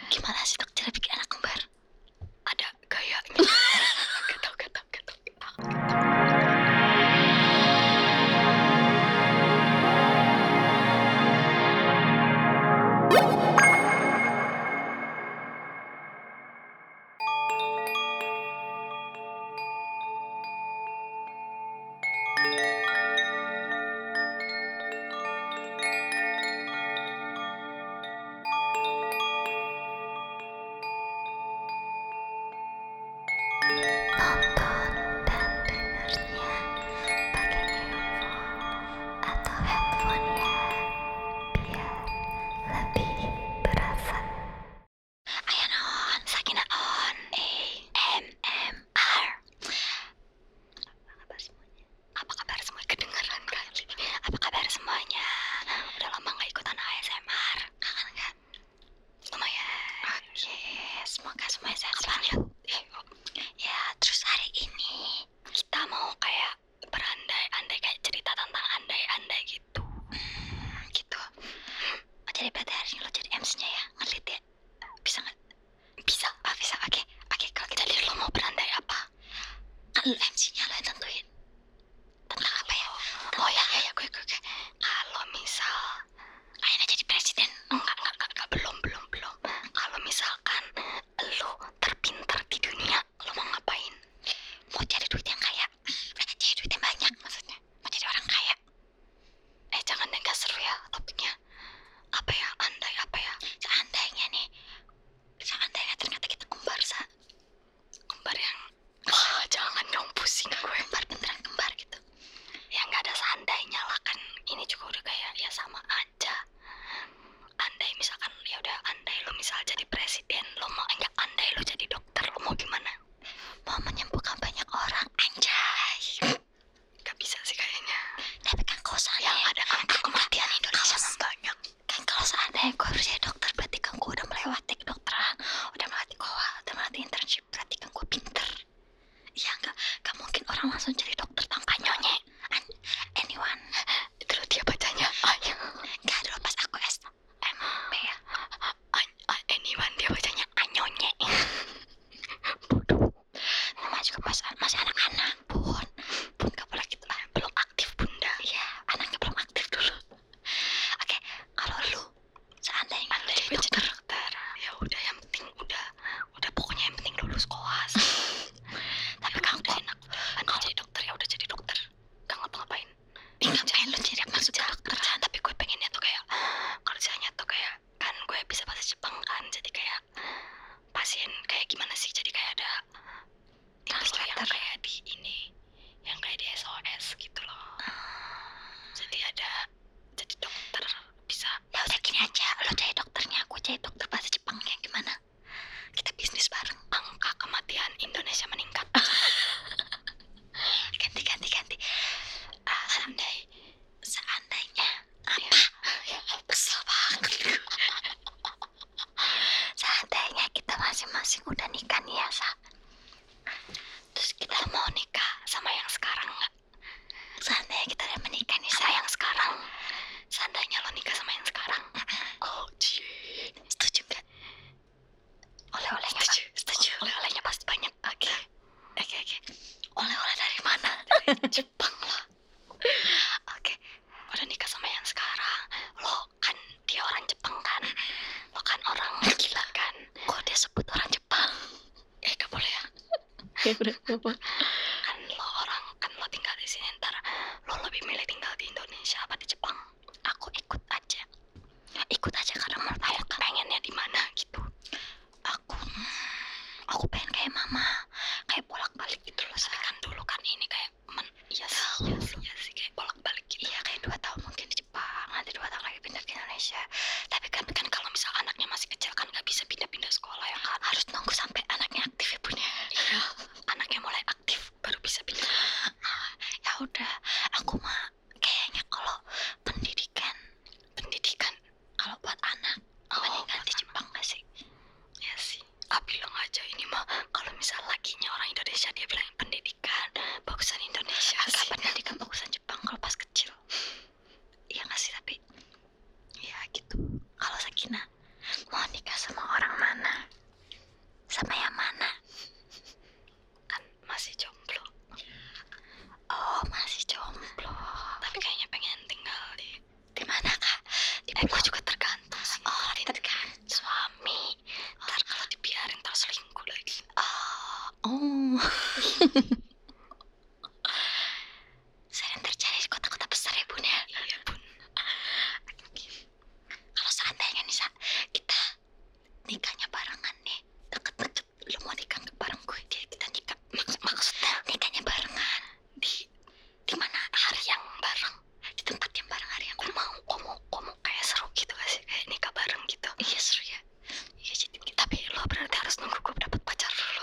Gimana sih dok cara bikin anak kembar? Ada gayanya. Gak tau. Nonton dan dengarnya pakai earphone atau headphone ya, biar lebih berasa. Ayo non, Sakina on. AMR. Apa kabar semuanya? Kedengeran kali. Apa kabar semuanya? Udah lama gak ikutan ASMR. Kangen kan? Lumayan. Oke, semoga semuanya sehat. Ya, terus hari ini kita mau kayak berandai-andai, kayak cerita tentang andai-andai gitu. Gitu. Oh, jadi berarti hari ini lo jadi MC-nya ya? Ngelit ya? Bisa nggak? Bisa. Oh, bisa. Oke. Kalau kita lihat lo mau berandai apa? Kan lo MC-nya, lo yang tentuin. Tentang apa ya? Oh ya, gue. Kalau misal kayaknya jadi presiden. Enggak, belum. Kalau misalkan lo terpintar di dunia, lo mau ngapain? Mau cari duit yang kaya? Cari duit yang banyak maksudnya. Mau jadi orang kaya? Jangan deh, gak seru ya topiknya. Apa ya? Andai apa ya? Seandainya ternyata kita kembar, kembar yang jangan dong, pusing gue. Kembar beneran kembar gitu. Ya gak ada seandainya lah, kan ini juga udah kayak ya sama aja. Andai misalkan ya udah, andai lo misal jadi presiden, lo mau enggak? Andai lo jadi dokter, lo mau gimana? Mau menyembuhkan banyak orang, anjay. Gak bisa sih kayaknya. Tapi kan kalau seandainya yang ada angka kematian Indonesia banyak. Kan kalau seandainya gue harus jadi dokter, berarti kan gue udah melewati kedokteran, udah melewati koa, udah melewati internship, berarti kan gue pinter. Iya gak mungkin orang langsung jadi dokter tanpa nyonye. Anyone. Itu lo dia bacanya ayo. Gak dulu pas aku SMP ya. Anyone dia bacanya anyonye. Bodoh. Namanya juga pas masih anak-anak, bun gak boleh gitu lah, belum aktif bunda. Iya, anaknya belum aktif dulu. Oke, kalau lu seandainya lu jadi dokter, ya udah, yang penting udah pokoknya yang penting lulus koas. Tapi kan udah enak, kalau jadi dokter ya udah jadi dokter, gak ngapa-ngapain. Ngapain lu jadi maksudnya dokter? Tapi gue pengennya tuh kayak kerjanya tuh kayak, kan gue bisa bahasa Jepang kan, jadi kayak pasien kayak gimana sih, jadi kayak ada yang kayak di ini, yang kayak di SOS gitu loh. Jadi jadi dokter bisa. Ya udah gini aja, lo jadi dokternya, aku jadi dokter bahasa Jepangnya, gimana? Kita bisnis bareng. Angka kematian Indonesia meningkat. Ganti. Seandainya apa? Ya kesel banget. Seandainya kita masing-masing udah nikah nih ya, terus kita mau nikah sama yang sekarang nggak? Seandainya kita udah menikah nih sama yang sekarang, seandainya lo nikah sama yang sekarang, setuju nggak? Oleh-olehnya setuju. Oleh-olehnya pasti banyak. Oke. Oleh-oleh dari mana? Dari Jepang lah. Oke. Udah nikah sama yang sekarang, lo kan dia orang Jepang kan, lo kan orang gila kan, kok dia sebut orang Jepang? Gak boleh ya. Ya udah, apa? Kan lo tinggal di sini, ntar lo lebih milih tinggal di Indonesia apa di Jepang? Aku ikut aja karena menurut aku pengennya di mana gitu. Aku pengen kayak mama, kayak bolak-balik gitu loh. Tapi kan dulu kan ini kayak iya sih kayak bolak-balik gitu. Iya, kayak 2 tahun mungkin di Jepang, nanti 2 tahun lagi pindah ke Indonesia. Tapi kan kalau misal anaknya masih kecil kan nggak bisa pindah-pindah sekolah ya kan, harus nunggu sampai anaknya aktif ya bun ya. Iya, anaknya mulai aktif baru bisa pindah. Ya udah, aku mah kayaknya kalau pendidikan kalau buat anak mendingan di Jepang gak sih? Ya sih, bilang aja ini mah kalau misal lakinya orang Indonesia, dia bilang pendidikan bagusan Indonesia. Pendidikan bagusan Jepang kalau pas kecil. Iya gak sih? Tapi ya gitu. Kalau Sakina mau nikah sama orang mana? Sering terjadi di kota-kota besar ya bun ya. Iya bun. Kalau seandainya nih kita nikahnya barengan nih, deket-deket, lu mau nikah bareng gue, kita nikah. Maksudnya nikahnya barengan di mana hari yang bareng, di tempat yang bareng hari yang bareng. Kamu kayak seru gitu gak sih, kayak nikah bareng gitu? Iya seru ya. Iya jadi tapi lo berarti harus nunggu gue dapet pacar dulu.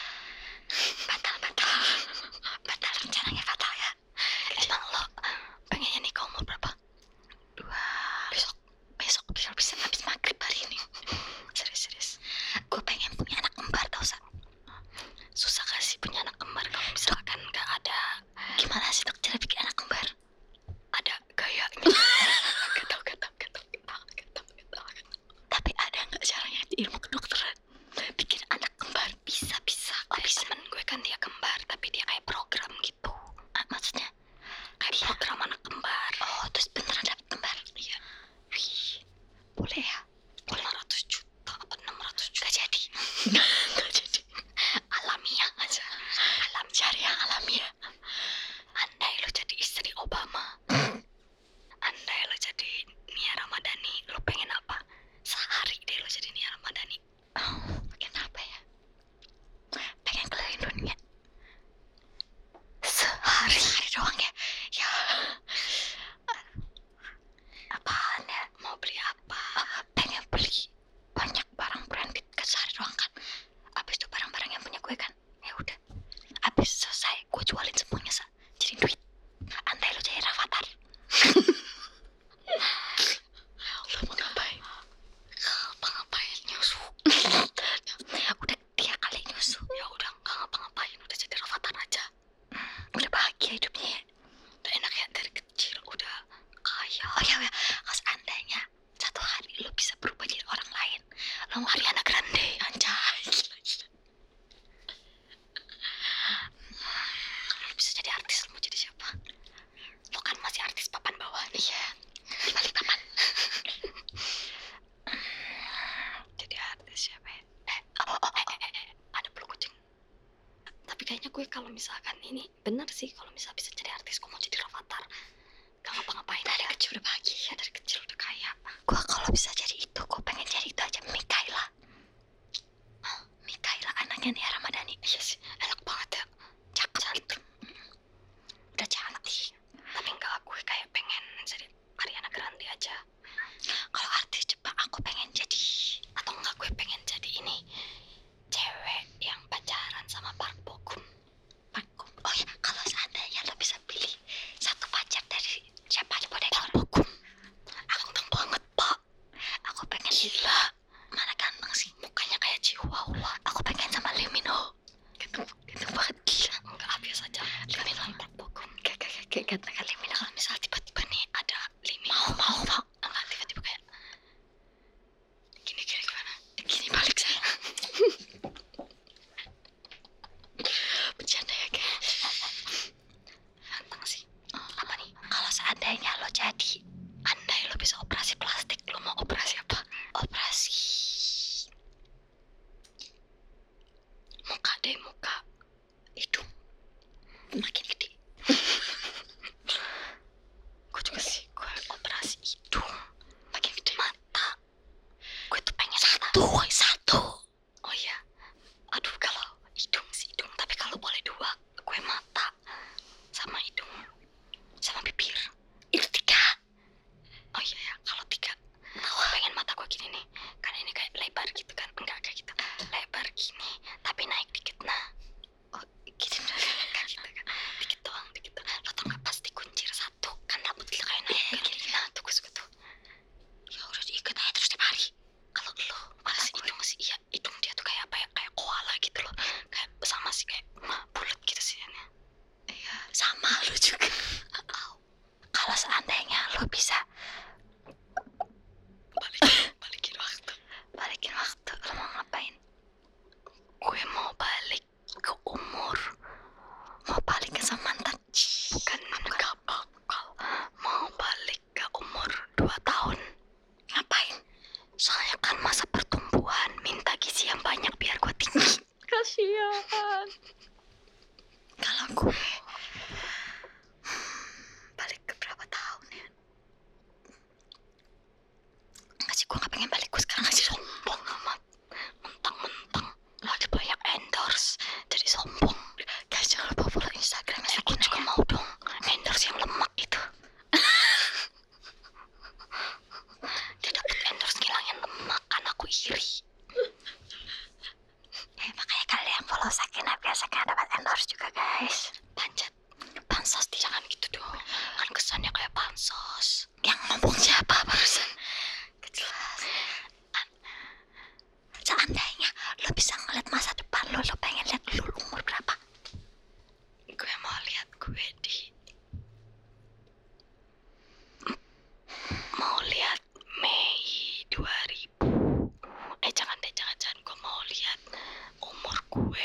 batal rencananya batal ya. Emang lo pengennya nikah umur berapa? 2 besok kalau bisa habis maghrib hari ini. Serius Gue pengen punya anak kembar tau Sa. susah gak sih punya anak kembar kalau misalkan gak ada Gimana sih dok cara bikin anak kembar? ada gayanya? Gak tau. Tapi ada nggak caranya di ilmu kedokteran bikin anak kembar? Bisa Temen gue kan dia kembar tapi dia kayak program gitu. Maksudnya Kayak dia program anak kembar. oh terus beneran dapet kembar? Iya. Wih boleh ya. 500 juta apa 600 juta? Gak jadi. Alamiah aja. Cari yang alamiah. Andai lo jadi istri Obama, andai lo jadi Nia Ramadhani, lo pengen apa? Sehari deh lo jadi Nia Ramadhani. Pengen apa ya? Pengen keliling dunia sehari doang ya. Ya apaan ya? Mau beli apa? Pengen beli banyak barang branded kan sehari doang kan. Abis itu barang-barang yang punya gue kan. Ya udah. Abis selesai gue jualin semuanya jadi duit. Andai lo jadi Rafathar. Lo mau ngapain? Ngapa-ngapain nyusu? Udah dia kali nyusu. Ya udah nggak ngapa-ngapain, udah jadi Rafathar aja. Udah bahagia hidupnya ya. Udah enak ya dari kecil udah kaya. Oh ya kalau seandainya satu hari lo bisa berubah jadi orang lain, lo mau Ariana Grande. anjay. Kalau lo bisa jadi artis, lo mau jadi siapa? Lo kan masih artis papan bawah nih. Iya di balik papan. Jadi artis siapa ya? Ada bulu kucing. Tapi kayaknya gue kalau misalkan ini bener sih, kalau misalnya bisa jadi artis, gue mau jadi Rafathar. Gak ngapa-ngapain Dari ya. kecil udah bahagia. Iya dari kecil udah kaya. Gue kalau bisa jadi itu, gue pengen jadi itu aja. Mikaela anaknya Nia Ramadhani. Iya sih, enak banget ya. Cakep gitu. Udah cantik. Tapi enggak, gue kayak pengen jadi Ariana Grande aja. Kalau artis Jepang aku pengen jadi, Atau enggak gue pengen jadi ini, cewek yang pacaran sama Park Bo Gum. oh ya kalau seandainya lo bisa pilih satu pacar dari siapa aja boleh. Park Bo Gum ganteng banget pak. Aku pengen Gila, mana ganteng sih. mukanya kayak Chihuahua. Aku pengen sama Lee Min Ho. Gitu banget gila. Enggak, biasa aja. Lee Min Ho, Park Bo Gum. Kayak ganteng kan Lee Min Ho. Kalau misal tiba-tiba nih ada Lee Min Ho, Mau. enggak, tiba-tiba kayak gini gimana? Gini balik saya. Bercanda ya kayak. Ganteng sih. Apa nih? Kalau seandainya lo jadi, Andai lo bisa operasi plastik, lo mau operasi apa? operasi Muka deh, muka. hidung makin gede. Gue juga sih, gue operasi hidung. Makin gede. Mata, gue tuh pengen Satu. Oh iya, aduh kalau hidung sih hidung, tapi kalau boleh 2, gue mata sama hidung sama bibir. Itu 3. Oh iya ya, kalau 3, gue pengen mata gue gini nih, kan ini kayak lebar gitu kan, enggak kayak gitu, lebar gini, tapi naik dikit nah. Oh gitu. Kayak gitu kan, dikit doang. Lo tau nggak pas dikuncir satu, kan rambut kita kayak naik kan? Gini. Nah tuh gue suka tuh. Ya udah diikat aja terus tiap hari. Kalau lo masa hidung sih, iya hidung dia tuh kayak apa ya, kayak koala gitu loh, kayak sama sih kayak bulat gitu sih ya. Iya sama lo juga. Kalau seandainya lo bisa Balikin waktu, lo mau ngapain? gue mau balik ke umur, Mau balik ke sama mantan? bukan nggak bakal, mau balik ke umur 2 tahun. Ngapain? Soalnya kan masa pertumbuhan, minta gizi yang banyak biar gue tinggi. Kasihan. gue balik ke berapa tahun ya? Enggak sih, gue gak pengen balik. Gue sekarang masih sombong amat. Mentang-mentang lagi banyak endorse jadi sombong. Guys, jangan lupa follow Instagram. Aku juga mau dong endorse yang lemak itu. Dia dapat endorse ngilangin lemak, kan aku iri. Makanya kalian follow Sakina biar Sakina dapat endorse juga, guys. Panjat bansos, jangan gitu dong, kan kesannya kayak bansos. Yang ngomong siapa barusan? Kejelas. Seandainya lo bisa ngeliat masa depan lo pengen lihat lo umur berapa? Gue mau lihat gue mau lihat Mei 2000. Jangan gue mau lihat umur gue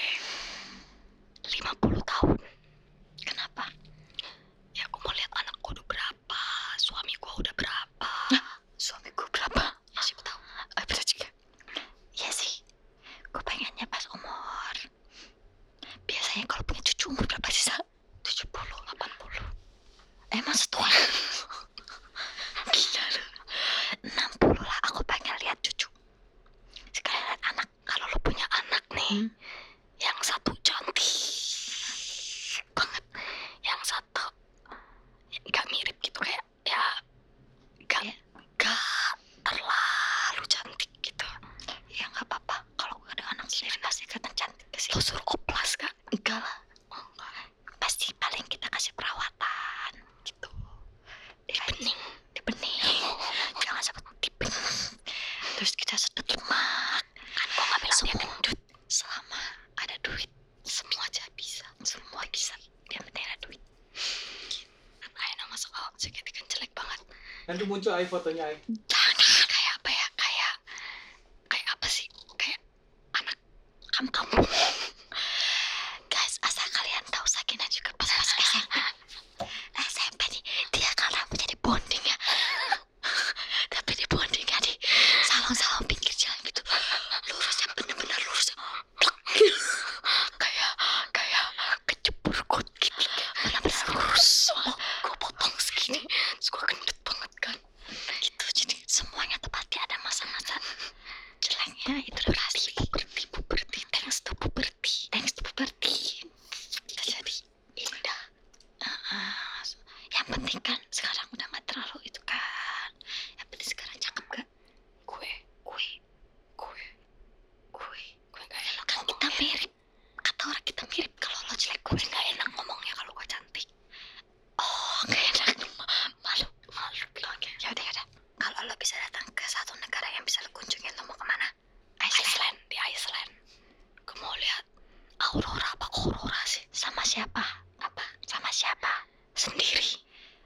50 tahun. Kenapa? Ya gue mau lihat anak gue udah berapa, suami gue udah berapa. Suami gue berapa? Ya siapa tahu. Bener juga. Iya sih, gue pengennya pas umur. Biasanya kalau punya cucu umur berapa sih, Sa? 70, 80. Emang setua? Gila lu. 60 lah, aku pengen lihat cucu. Sekali lihat anak. Kalau lo punya anak nih, yang satu cantik banget, yang satu gak mirip gitu, kayak ya gak terlalu cantik gitu. Ya gak apa-apa, kalau gue ada anak sendiri pasti kelihatan cantik ke sih. Lo suruh oplas gak? Enggak lah. Pasti paling kita kasih perawatan gitu, dibening. Jangan sampai dibening. Terus kita sedot lemak. Kan gue gak bilang dia gendut. Selama ada duit, semua aja bisa. Semua bisa, yang penting ada duit. Ayah masuk awak jaket kan jelek banget. Nanti muncul ay fotonya ay. Jangan, kayak apa ya? Kayak apa sih? Kayak anak kampung. Guys, asal kalian tahu, Sakina juga pas SMP nih, dia kan rambutnya di bonding ya. Tapi di bondingnya di salong-salong pinggir jalan gitu. Lurusnya bener-bener lurus. Kayak kejebur got gitu. Bener-bener lurus. Gue potong segini, terus gue gendut banget kan. Gitu, jadi semuanya tepatnya ada masa-masa jeleknya. Itu udah pasti. Puberti. Thanks to puberti. Kita jadi indah. Yang penting kan sekarang udah gak terlalu itu kan. Yang penting sekarang cakep gak? Gue gak enak. Kan kita mirip. Kata orang kita mirip. Kalau lo jelek, gue gak enak ngomongnya kalau gue cantik. Oh, gak enak. Malu. Oke. Yaudah. Kalau lo bisa datang ke satu negara yang bisa lo kunjungin, lo mau kemana? Iceland. Di Iceland. Gue mau lihat aurora apa aurora sih? Sama siapa? Sendiri.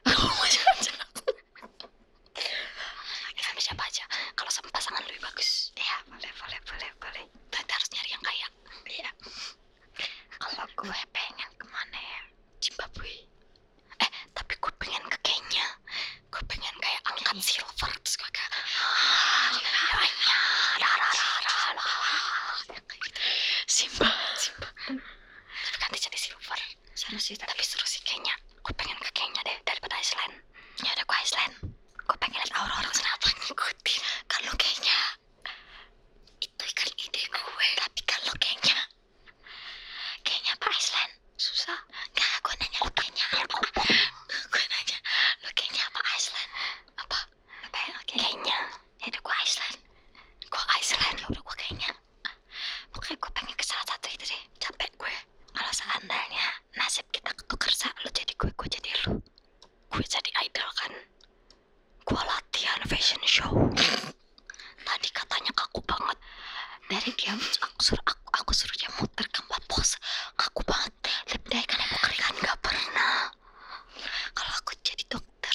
Sama siapa aja. Kalau sama pasangan lebih bagus. Iya, boleh. Tapi harus nyari yang kaya. Iya. Kalau gue pengen kemana ya? Zimbabwe. Tapi gue pengen ke Kenya. Gue pengen kayak angkat silver, terus gue kayak Simba. Tapi ganti jadi silver. Seru sih Kenya. Gue pengen ke Kenya deh daripada Iceland. Ya udah, gue Iceland. Gue pengen lihat aurora. Kenapa ngikutin? Kalau Kenya itu kan ide gue. Tapi kalau Kenya apa Iceland? Susah. Enggak, gue nanya lo Kenya apa? Lo Kenya apa Iceland? Apa ya? Kenya. Ya udah, gue Iceland. Ya udah, gue Kenya. Pokoknya gue pengen ke salah satu itu deh. Capek gue. Kalau seandainya nasib kita ketukar, lo jadi gue jadi lo. Gue jadi idol kan. Gue latihan fashion show. Tadi katanya kaku banget. Dari dia aku suruh dia muter gambar pose. Kaku banget. Lip dye kan yang keringan gak pernah. Kalau aku jadi dokter,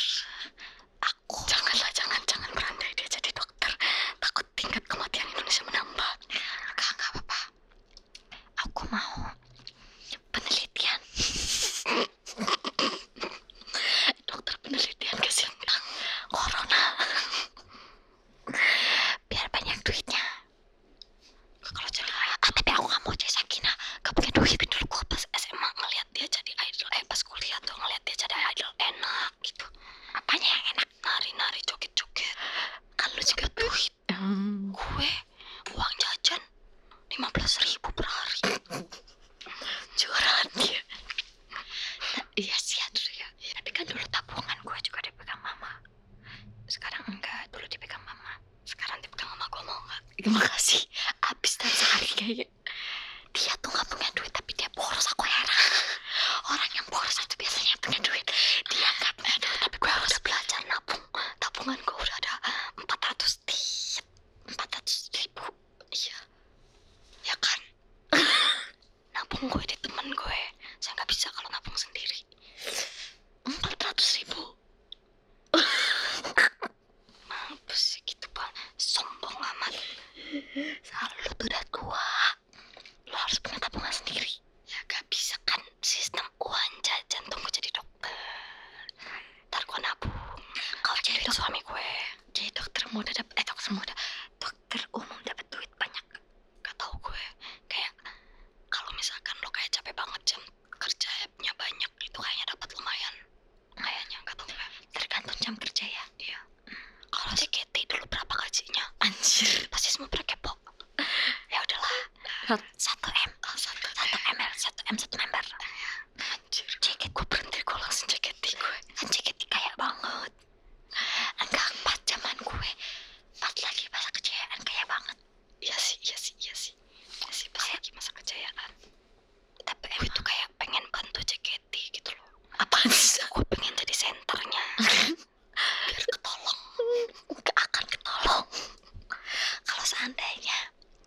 jangan berandai dia jadi dokter. Takut tingkat kematian Indonesia menambah. Gak apa-apa. Aku mau penelitian. Dokter penelitian kasihan tentang corona. Biar banyak duitnya. Kalau jadi tapi aku gak mau jadi Sakina. Gak punya duit. Dulu gue pas SMA ngeliat dia jadi 15.000 per hari. Curhat dia. Iya sih aduh ya. Tapi kan dulu tabungan gue juga dipegang mama. Sekarang enggak, dulu dipegang mama. Sekarang dipegang sama gue, mau nggak? Terima kasih. Abis dalam sehari kayaknya. Dia tuh gak punya duit tapi dia boros, aku heran. Orang yang boros itu biasanya punya duit. Dia gak punya duit tapi gue harus belajar nabung. Tabungan gue udah ada 400.000. Iya. Ya kan? Nabung gue di temen gue. Saya nggak bisa kalau nabung sendiri. 400.000. Mampus sih gitu bang. Sombong amat. Selalu lu tuh udah tua. Lu harus punya tabungan sendiri. Ya gak bisa kan, sistem uang jajan. Tunggu jadi dokter. Ntar gue nabung. Kalau jadi Duit suami gue. jadi dokter umum dapat duit banyak. Gak tau gue. Kayak kalau misalkan lo kayak capek banget jam kerjanya banyak, itu kayaknya dapat lumayan. Kayaknya gak tau gue. Tergantung jam kerja ya. Iya. Kalau JKT dulu berapa gajinya? Anjir. Pasti semua pada kepo. Ya udahlah. 1 M. 1 member. Anjir. JKT gue berhenti, gue langsung JKT gue. Kan JKT kaya banget. Enggak, pas zaman gue pas lagi masa kejayaan kaya banget. Iya sih. Pas lagi masa kejayaan. Tapi Gue tuh kayak pengen bantu JKT gitu loh. apaan sih? Gue pengen jadi senternya. Biar ketolong. Gak akan ketolong. Kalau seandainya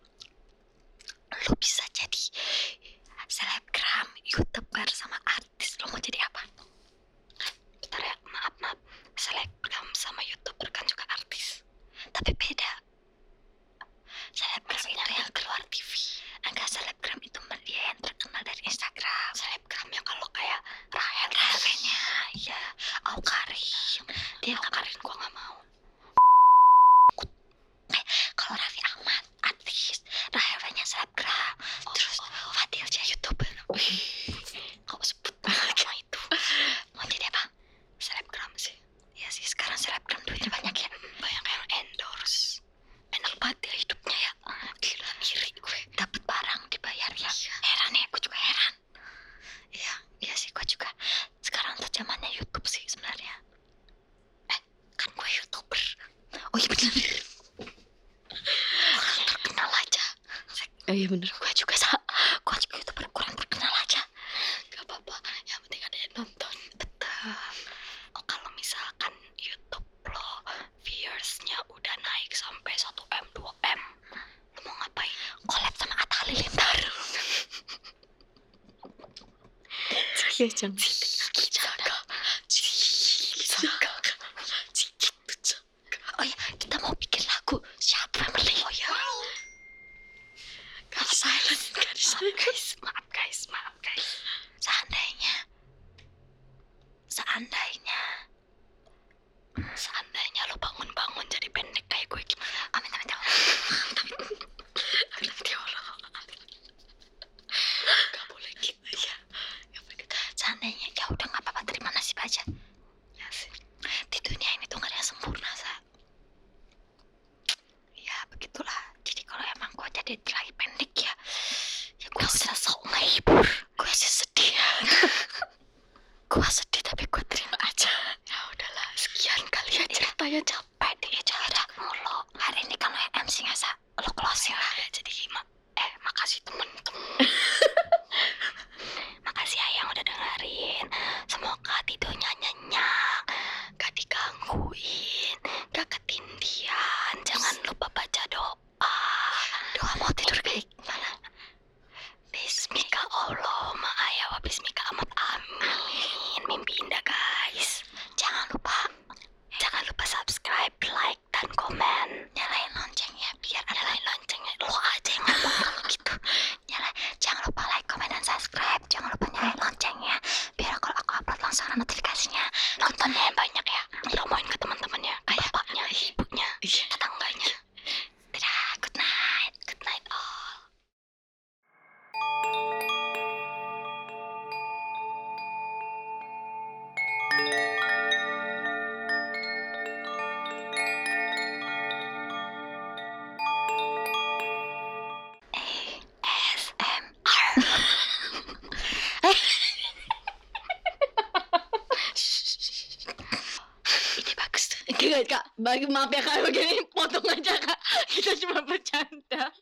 lu bisa jadi selebgram, youtuber sama artis, lu mau jadi apa? Bentar ya, maaf. Selebgram sama YouTuber kan juga artis. Tapi beda. Selebgram Maksudnya itu yang keluar TV. enggak, selebgram itu dia yang terkenal dari Instagram. Selebgramnya kalau kayak Rahel. Rahelnya, iya, Aukarin. Dia Karin gue gak mau. kalau Raffi Ahmad artis, Rahelnya selebgram. Terus Fadil Jah youtuber. Kau sebut nama itu. Mau jadi apa? Selebgram sih. Ya sih, sekarang selebgram duitnya banyak ya. Banyak yang endorse. Enak banget ya hidupnya ya. Gila, iri gue. Dapat barang dibayar ya. Heran ya, gue juga heran. Iya sih, gue juga. Sekarang tuh zamannya YouTube sih sebenarnya. Kan gue YouTuber. Oh iya bener. Orang terkenal aja. Oh iya bener, gue juga YouTuber kurang terkenal aja. Gak apa-apa, yang penting ada yang nonton. Betul. Oh, kalau misalkan YouTube lo viewersnya udah naik sampai 1M, 2M, lo mau ngapain? Collab sama Atta Halilintar. Ya jangan. Oh ya, kita mau bikin lagu Siap Family. Oh ya. Maaf guys. Seandainya lo bangun-bangun jadi pendek kayak gue gimana? Amin. Ya Allah. Gak boleh gitu ya. Seandainya ya udah nggak apa-apa, terima nasib aja. Ya sih. Di dunia ini tuh nggak ada yang sempurna, Sa. Ya begitulah. Jadi kalau emang gue jadi lagi pendek ya gue udah sok ngehibur. Gue sih sedih ya. Gue sedih tapi gue terima aja. Ya udahlah, sekian kali ya ceritanya, capek deh cerita mulu. Hari ini kan lo yang MC nggak, Sa? Lo closing lah. Ya, jadi makasih temen-temen. Makasih ya yang udah dengerin. Semoga tidurnya nyenyak, Gak digangguin, gak ketindihan. Jangan lupa baca doa. doa mau tidur Ini bagus tuh. Kak, maaf ya Kak, begini potong aja Kak. Kita cuma bercanda.